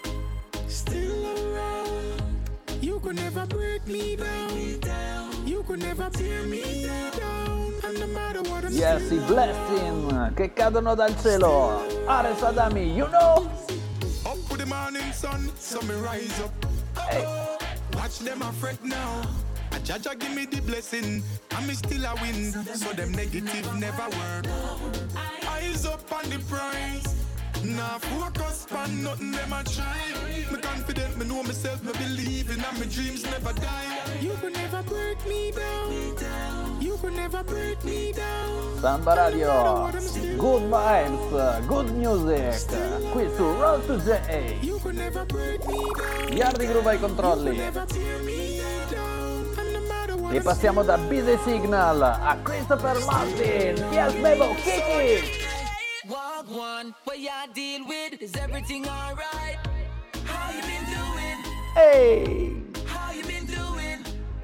Still around. You could never break me down. You could never tear me down. And no matter what, I'm Yes, i blessing che cadono dal cielo. Ares Adami, you know. Up with the morning sun, so me rise up. Hey. Watch them a fret now. A Jaja give me the blessing, and me still a win. So them negative never work. Eyes up on the prize. Nah focus on nothing them a try. Me confident, me know myself, me believe in, and my dreams never die. You could never break me down. You could never break me down. Samba Radio, good vibes, good music, qui su Road to J. You could never break me down. Yardi Groove ai controlli. Never tear me down. And no matter what, E passiamo da Busy Signal a Christopher Martin. Yes, Bebo, Kiki. Walk one, what y'all deal with? Is everything alright? How you been doing? Hey, How you been doing?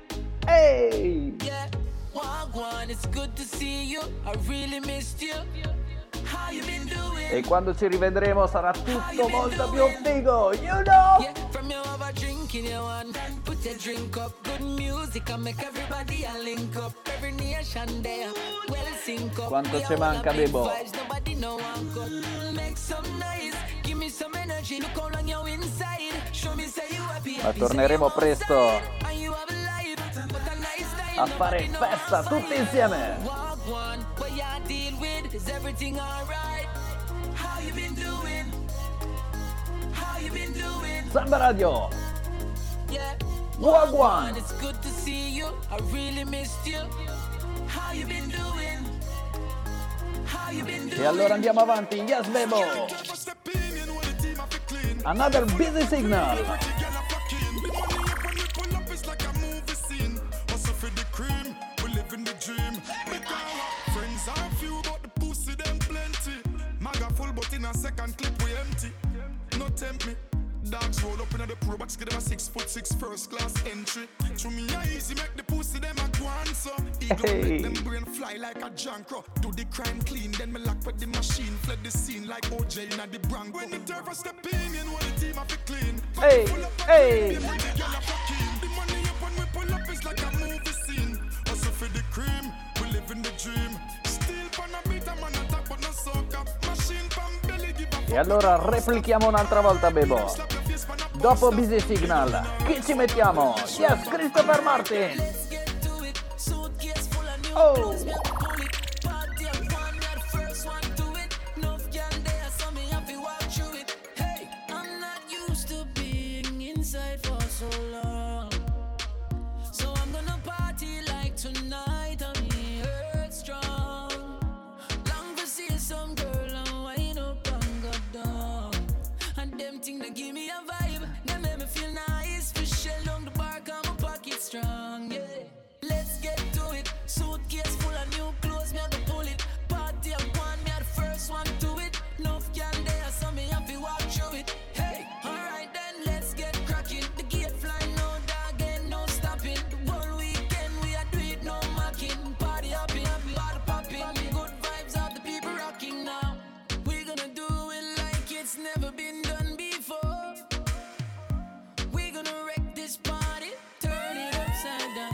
hey. Yeah, walk one, it's good to see you. I really missed you. How you been doing? E quando ci rivedremo sarà tutto molto più figo, you know? Yeah, from your over drinking you one. Put your drink up, good music and make everybody a link up. Every nation there, well sync up. Quanto We ci all manca, a big Bebo? vibes, nobody know one cut. Make some noise, give me some energy. Look how long you're inside. Show me say you happy. Ma happy, torneremo say you presto outside. And you have a life, but a nice time. a fare festa tutti insieme. Walk one, what y'all deal with? Is everything alright? How you been doing? How you been doing? Samba Radio, Yeah. Walk one. It's good to see you. I really missed you. How you been doing? How you been doing? e allora andiamo avanti, yes, Bebo. Another Busy Signal. Friends are few, but the pussy them plenty. Maga full, but in a second clip we empty. No tempt me. Dogs roll up in the pro box, give them a six foot six first class entry. To me, I easy make the pussy them a go on so. Ego Hey. make them brain fly like a jankro. Do the crime clean, then me lock with the machine. Fled the scene like O J in the Bronco. When the terror step in, you know the team have to clean. Hey, hey. The money up when we pull up is like a movie scene. Also cream. We live in the dream. Still pan a beat, I'm on a top, but no soca. Machine pan belly give a E allora replichiamo un'altra volta, Bebo. Dopo Busy Signal, chi ci mettiamo? Yes, Christopher Martin. Oh. So long, so I'm gonna party like tonight. I'm hurt strong. Long to see some girl and wind up and go down. And them thing that give me a vibe, they make me feel nice. Fish along the bar, got my pocket strong. Yeah, let's get to it. Suitcase full of new clothes, me have to pull it. Party up one, me are the first one to it. Enough can there, so me have to walk through it. Hey, alright then, let's get cracking. The gate flying, no dog, ain't no stopping. The whole weekend we are do it, no mocking. Party hopping, party popping. Good vibes of the people rocking now. We're gonna do it like it's never been done before. We're gonna wreck this party, turn it upside down.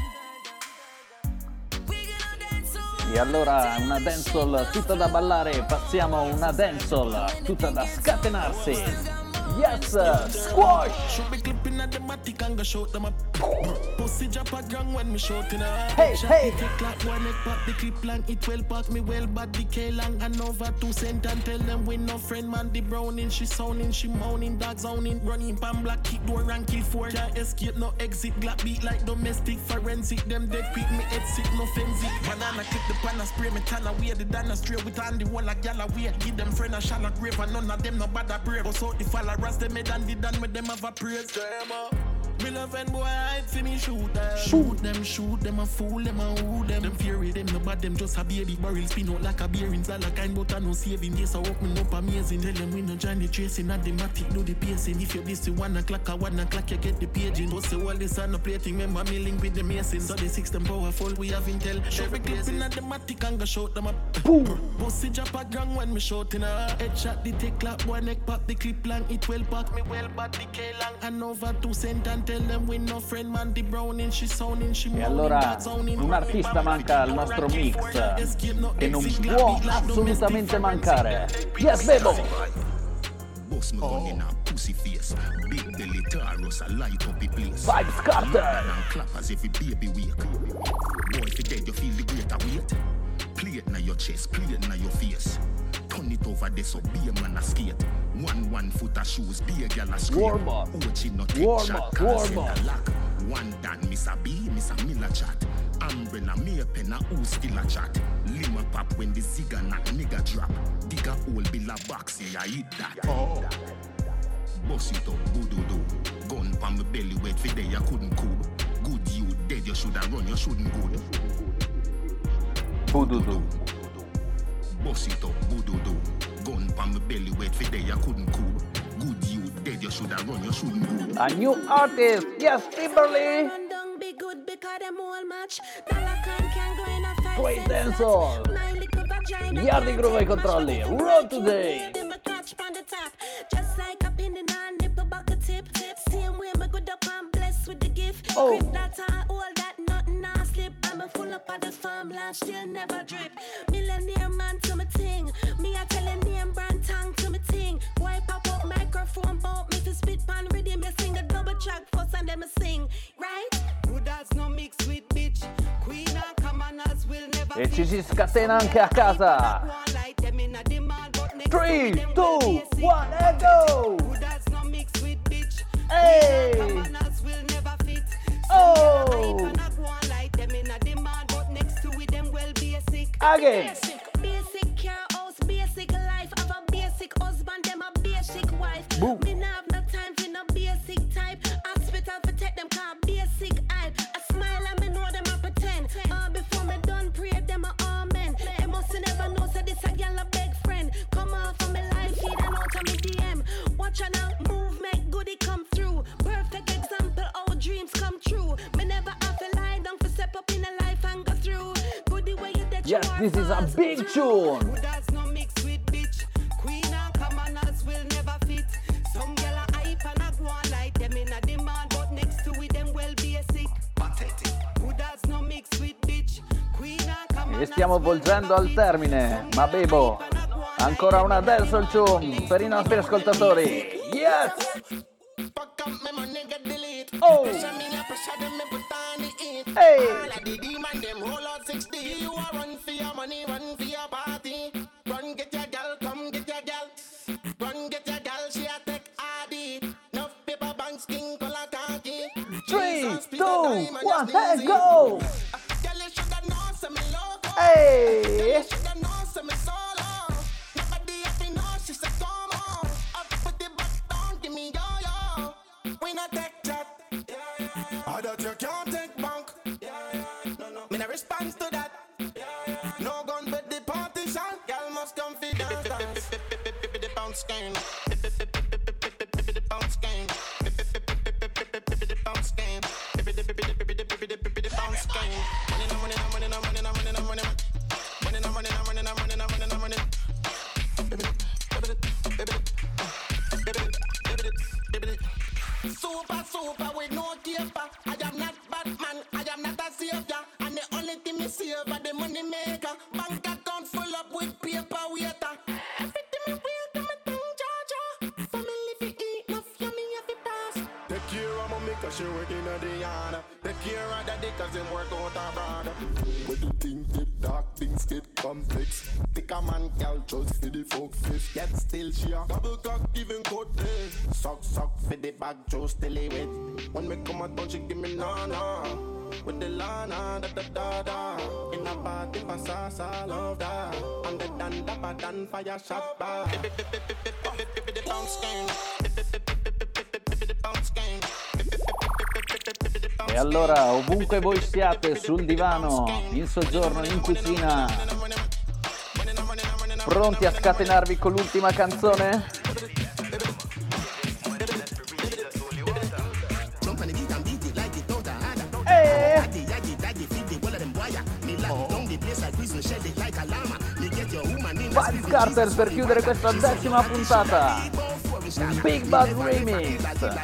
We're gonna dance all E allora una dancehall tutta da ballare, passiamo a una dancehall tutta da scatenarsi. Yes, squash! Should be clipping at the matic and go shoot them up. Pussy drop a ground when me shooting her. Hey, hey! Take like one neck pop the clip long. It well pack me well but the K long and over two cent and tell them we no friend man. The browning she sounding, she moaning, dog zoning, running pan black kick door and kill four. Can't escape no exit, black beat like domestic forensic. Them dead quick me head sick no frenzy. Banana clip the pan and spray me tan away. The dana straight with Andy wall like gal away. Give them friend a shallow grave and none of them no bad a brave. Go so the follow rest them head and the done with them have a praise. Them up. Me love when boy hide for me shoot them. Shoot them, shoot them, a fool them, a who them. Them fury them, no bad them, just a baby barrel spin out like a beer in Zala kind, but I no saving. Yes, I walk me up amazing. Tell them we no Johnny chasing at the matic, do the pacing. If you this to one o'clock or one o'clock, you get the paging. Don't say all this and no plating, remember me link with the mason. So the six them powerful, we have intel. Show me clipping at the matic and go shoot them up. Boom! Pussy drop a ground when me shooting her. Headshot the take clap, one neck pop the clip long. It well pack me well, but the K long. And over two cent and tell them we no friend man. The browning, she sounding, she E allora un artista manca al nostro mix che non può assolutamente mancare. Yes, Bebo! Boss me gun in a pussy face. Big belly Taurus, I light up the place. Vibes Carter! And clap as every baby wake. Boy, if you dead, you feel the greater weight. Play it na your chest, play it na your face. Turn it over there so be a man a skate. One one foot of shoes, be a gal a scream. Warm up. Ochi no take Warm shot, up, cause warm in up. the lock. One dan, Miss a B, Miss a Miller chat. Umbrella, me a pen a who still a chat. Lima pop when the zigga knock nigga drop. Dig a hole, bill a box, yeah, I eat that. Oh. Boss it up, boo-doo-doo. Gun pa my belly, wait for day, I couldn't cool. Good you dead, you shoulda run, you shouldn't go. Boo-doo-doo. Boss it up, boo-doo-doo. Gun pa my belly, wait for day, I couldn't cool. Good you dead, you shoulda run, you shouldn't go. A new artist, yes, Timberly! Be good because them all match. Dalacan can go in a fight. Straight dancehall. Yardi Groove ai controlli. Road Today. Just like up in the nine nipple bucket tip. Same way me good up and blessed with the gift. Oh. Grip that time, all that nothing now slip. I'm a full up of the farmland, still never drip. Millionaire man to my ting. Me I tell a name brand tongue to my ting. Wipe up up microphone bump me to spit pan rhythm. Me sing a double track first and then I sing. Right? No mix with bitch. Queen and commoners will never. E ci si scatena anche a casa. three, two, one, and go! Hey! Oh! Again! Basic car house, basic life. Have a basic husband, them a basic wife. Boom. Me nah have no time for no basic type. Hospital for take them car basic hype. I smile and me know them a pretend. Uh, before me done pray them a amen. They must never know so this a gal a beg friend. Come off of me life feed and out of me D M. Watch her now move, make goodie come through. Perfect example how dreams come true. Me never have to lie down for step up in a life and go through. Goodie way you that Yes, this is a big tune. no mix with bitch. Queen and commoners will never fit. Some gal a hype and a go on like them in a demand, but next to it them well basic. Pathetic. Who does no mix with bitch? Queen e stiamo volgendo al termine, ma Bebo, ancora una dancehall tune per i nostri ascoltatori. Yes! Oh! Hey! Three, two, one, hey, go! Hey! Response to that. No gun but the partition. Girl must come feed dance dance. The bounce game. The bounce game. The bounce game. The bounce game. Money no money no money no money no money no money. Money no money no money no money no money no money. Super super with no keeper. I am not Batman. I am not a savior. Me save the money maker. Bank account full up with paper waiter. Everything me wear to me tongue Georgia. Family fi eat, no yummy have to pass. Take care of mommy cause she working at the yard. Take care of daddy cause him work out abroad. When the things get dark, things get complex. Pick a man, girl, just for the folk face. Yet still she a double cock, even coat day. Suck, suck for the bag, just still wet. When me come out, she give me na-na. With the lana, da da da da. In a party for salsa, love that. And the dan da ba dan fire shot bar. The bounce game. The bounce game. E allora, ovunque voi siate, sul divano, in soggiorno, in cucina, pronti a scatenarvi con l'ultima canzone? Vibes Cartel per chiudere questa decima puntata. Big Bad Remix.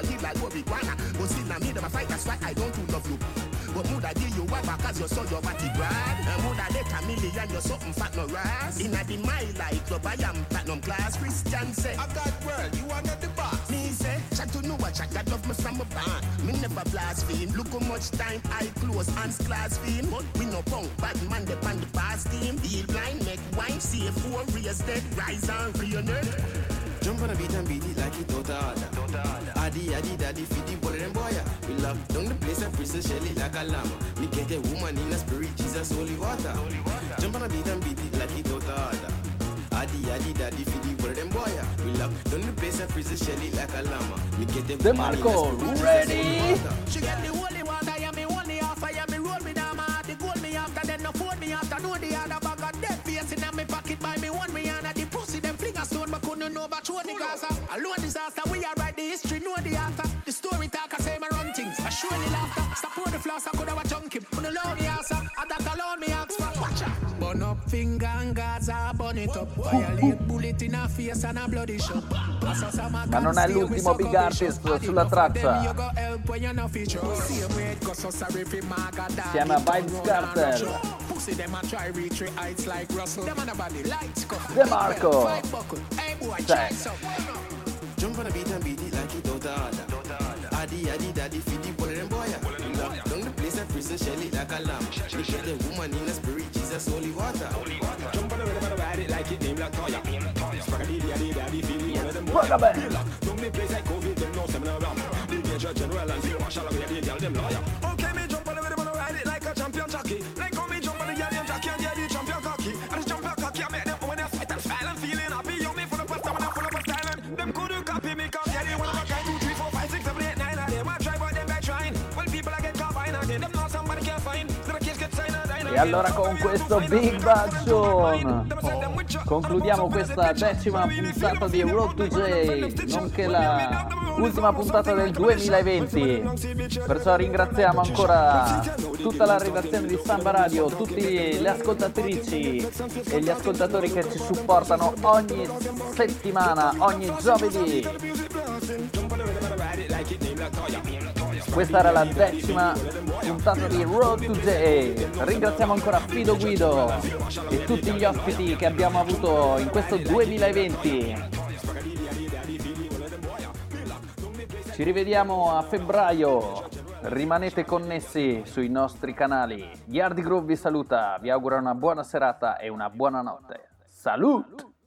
But would I give you a back as you saw your body brand? And would I let a million you something fat no rise? In a the my life club I am platinum class. Christian say I got world, you are not the boss. Me say, chat to know what chat, I love me from a band. Me never blaspheme, look how much time I close hands class fame. But we no punk, bad man the pan the past team. Deal blind, make wine, see four raise dead, rise and reunite. Jump on a beat and beat it like it don't order. Addy, addy, daddy, feed the ball and boy. We love down the place and prison shelly like a llama. Me get a woman in a spirit, Jesus, holy water. Jump on a beat and beat it like it don't order. Addy, addy, daddy, feed the ball and boy. We love down the place and prison shelly like a llama. Me get a woman in a spirit, ready? She get the holy water, yeah, me only half, yeah, me roll me down, my heart, the gold me after, then no phone me after, know the other bag of dead face in my pocket by me one me and the pussy, them fling a stone, but couldn't know about show the Gaza. Alone disaster, we are write the history, know the author. The story talk, I say my run things, I show the laughter. Support the floss, I could have a junkie, on the low me answer, and that alone me ask for. Watch out. Burn up finger and Gaza, burn it up. Violate bullet in a face and a bloody shot. Ma non è l'ultimo big artist sulla traccia. Insieme a Vibes Cartel. De Marco. Check. Jump on a beat and beat it like it don't order. Addy, addy, daddy, feed the ball and boy. Down the place and prison shelly like a lamb. We get the woman in a spirit, Jesus, holy water. Jump on the rhythm and ride it like it named like Toya. Spaghetti, daddy, daddy, feed the ball and boy. Down the place like COVID, them no seminar ram. The major general and field marshal, we have the them lawyer. Okay, me jump on the rhythm and ride it like a champion jockey. Like how me jump on the yellow jockey and get the champion cocky. I just jump like cocky, I make them when they fight and style and feeling happy. You me for the first time and I'm full of a style and them couldn't copy me, come get it one of a kind, two, three, four, five, six, seven, eight, nine, and they want try but them back trying. Well, people I get caught fine again, them know somebody can't find. So the kids get signed and dying. E allora con questo Big Bad Zone concludiamo questa decima puntata di Road to J, nonché la ultima puntata del duemilaventi. Perciò ringraziamo ancora tutta la redazione di Samba Radio, tutte le ascoltatrici e gli ascoltatori che ci supportano ogni settimana, ogni giovedì. Questa era la decima puntata di Road to J. Ringraziamo ancora Fido Guido e tutti gli ospiti che abbiamo avuto in questo duemilaventi. Ci rivediamo a febbraio. Rimanete connessi sui nostri canali. Yardi Groove vi saluta, vi augura una buona serata e una buona notte. Salut!